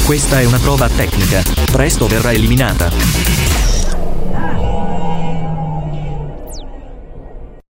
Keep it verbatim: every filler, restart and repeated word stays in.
Questa è una prova tecnica. Presto verrà eliminata.